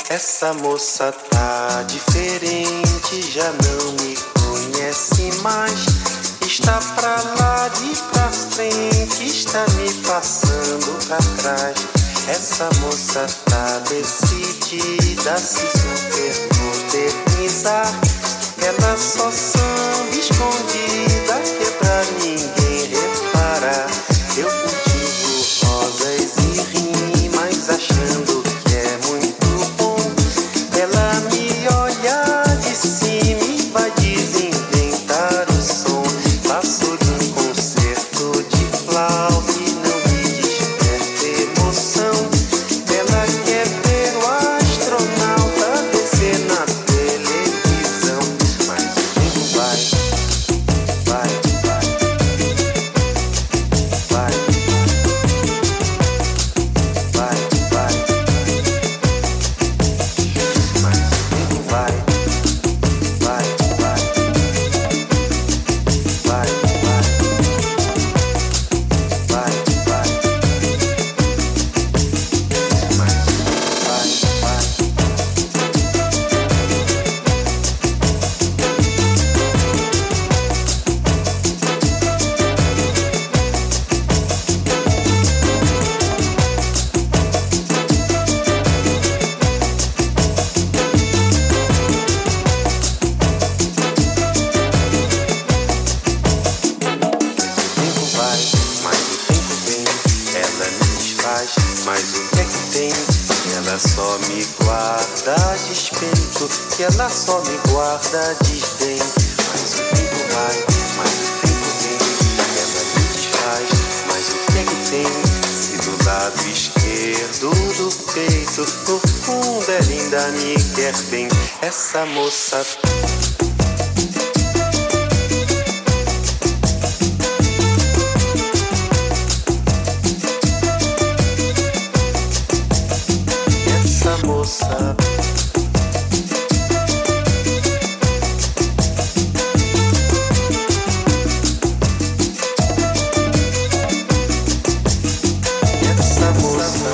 Essa moça tá diferente, já não me conhece mais. Está pra lá e pra frente, está me passando pra trás. Essa moça tá decidida a se super modernizar. Ela só samba escondida que é pra ninguém reparar. Eu cultivo rosas e rimas achando que é muito bom. Ela me olha de cima e vai desinventar o som. Faço-lhe um concerto de flauta e não me desperta emoção. Ela quer ver o astronauta descer na televisão. Mas o tempo vai, vai, vai, vai, vai, vai. Mas o tempo vai, vai, vai, vai, vai, vai, vai. Mas o tempo vai, vai. Mas o que é que tem? Ela só me guarda despeito, que ela só me guarda desdém. Mas o tempo vai, mas o tempo vem. Ela me desfaz, mas o que é que tem? Se do lado esquerdo do peito, no fundo ela ainda me quer bem. Essa moça. Essa moça. Essa moça.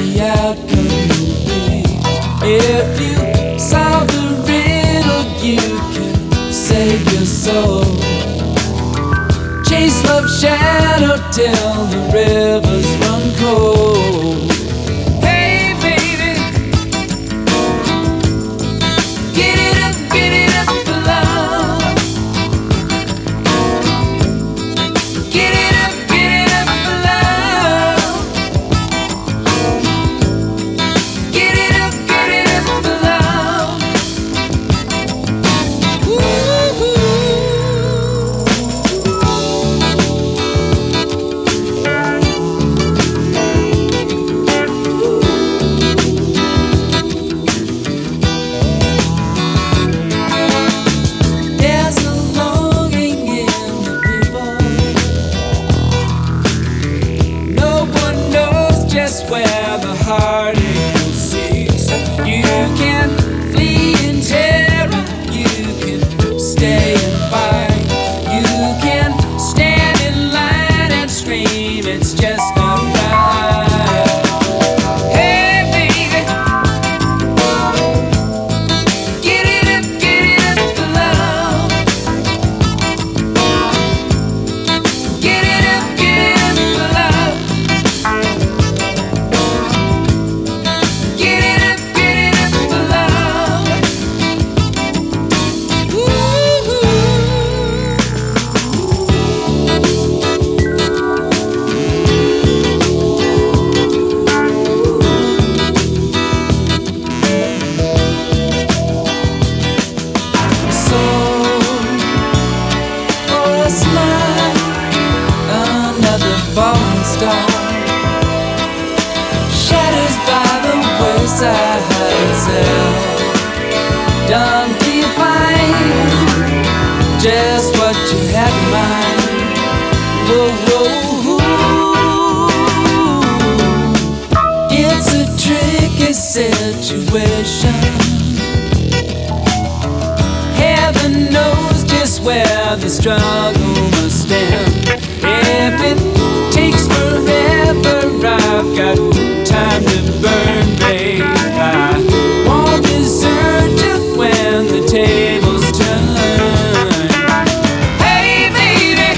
the outcome will be. If you solve the riddle, you can save your soul. Chase love's shadow till the rivers run cold. Hey baby, get it up for love. Get it up for love. Get it up for love. Ooh. There's a longing in the people. No one knows just where the heartache will cease. You can flee in terror, you can stay and fight, you can stand in line and scream, it's just not right. Hey baby, get it up for love. Get it up for love. Get it up for love. Ooh. So, for a smile, another falling star shatters by the wayside itself. Don't define just what you had in mind. Whoa, whoa. It's a tricky situation. Heaven knows just where the struggle must end. If it takes forever, I've got time to burn, babe. I won't desert you when the tables turn. Hey, baby,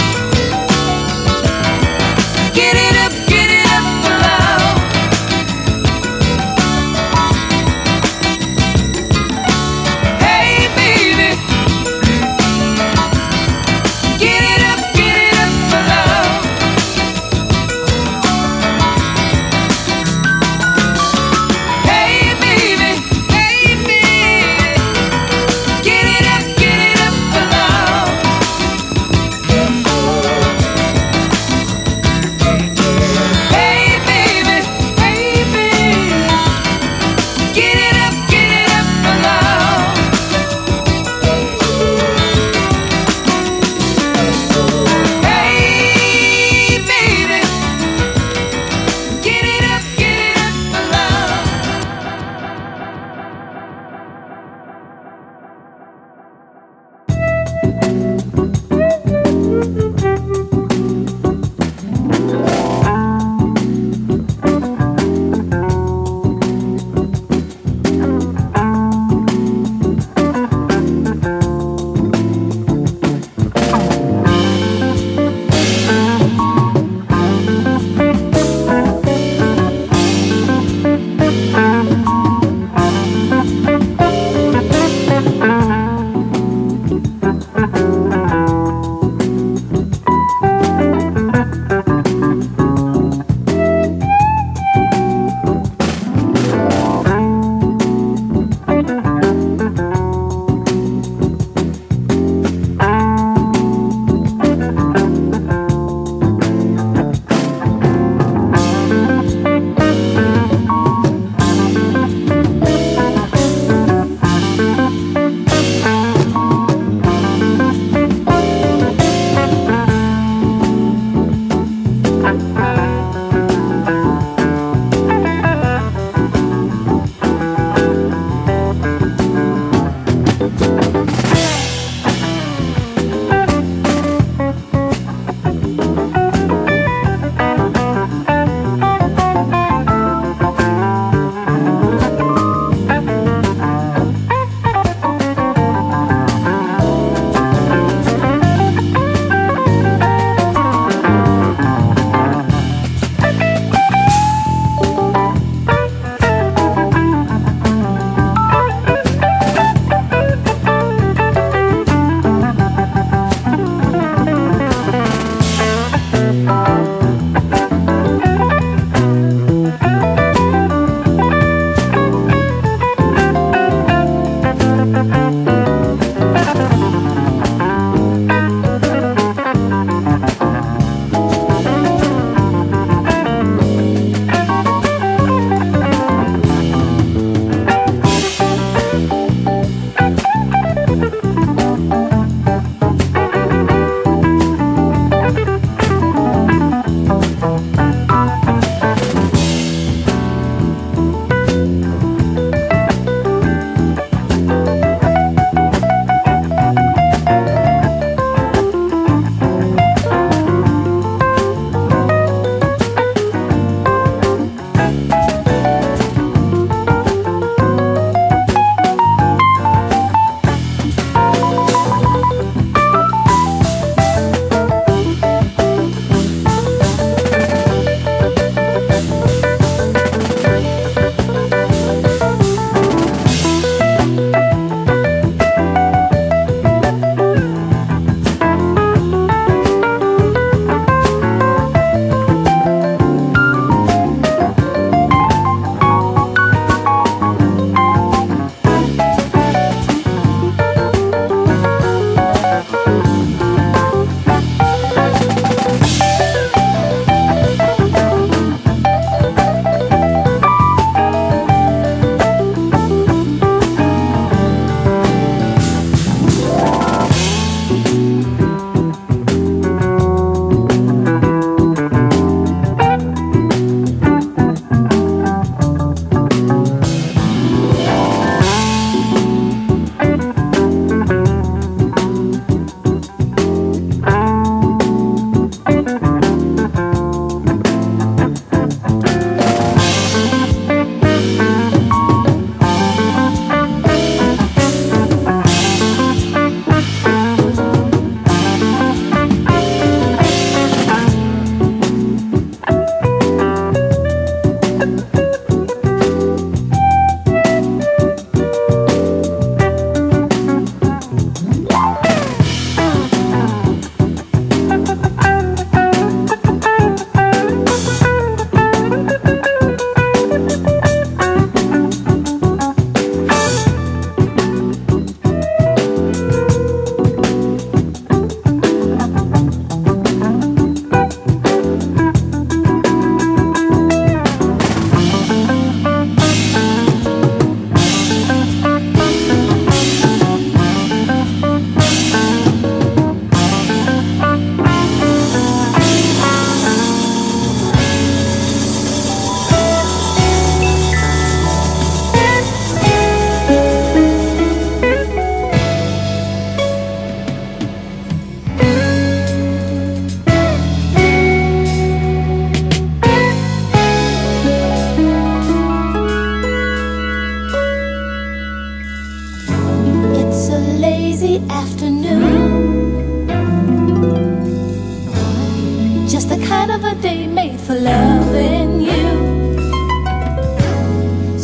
get it up for love. Hey, baby, get it up for love.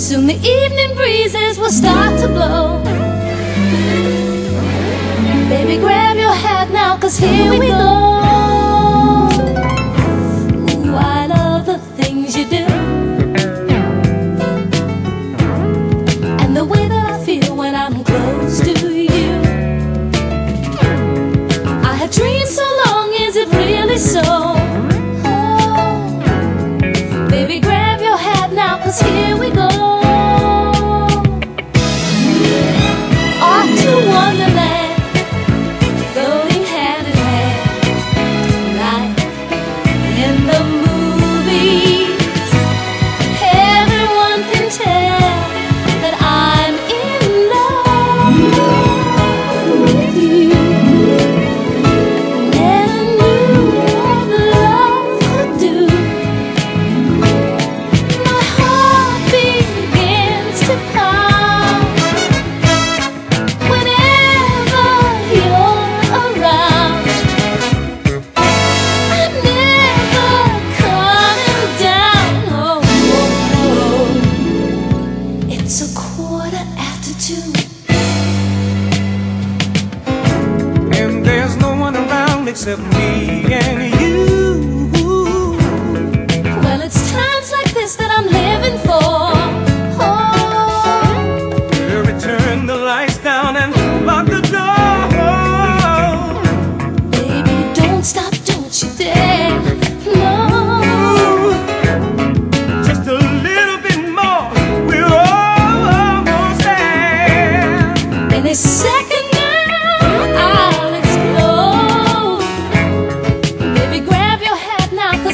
Soon the evening breezes will start to blow. Baby, grab your hat now, 'cause here we go. Ooh, I love the things you do, and the way that I feel when I'm close to you. I have dreamed so long, is it really so? Oh, baby, grab your hat now, 'cause here we go. Off to Wonderland, going hand in hand, like in the movies. Everyone can tell that I'm in love with you. Never knew what love could do. My heart begins to pound whenever you're around. I'm never coming down. Oh, oh, oh. It's 2:15. And there's no one around except me and you. Well, it's times like this that I'm living for. Oh, Turn the lights down and lock the door. baby, don't stop, don't you dare. No, Just a little bit more, we're almost there. any second now I'll explode. Baby, grab your hat now, 'cause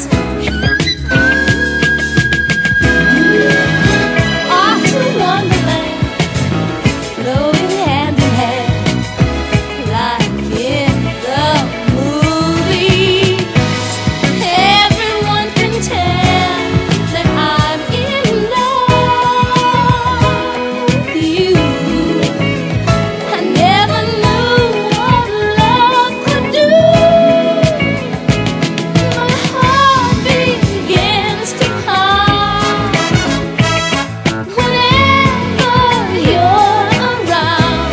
off to Wonderland, going hand in hand, like in the movies. Everyone can tell that I'm in love with you. I never knew what love could do. My heart begins to pound whenever you're around.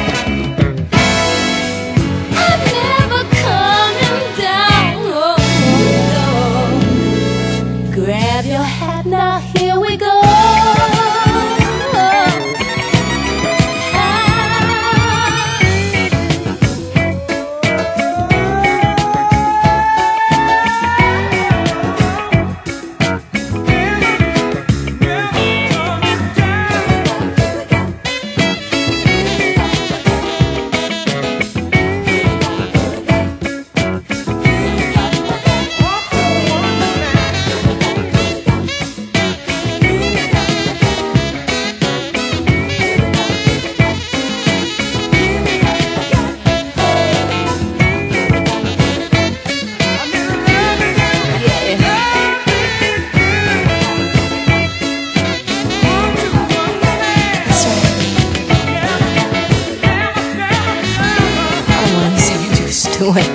I'm never coming down. Oh, no. Grab your hat now, here we go. I want to see you do it.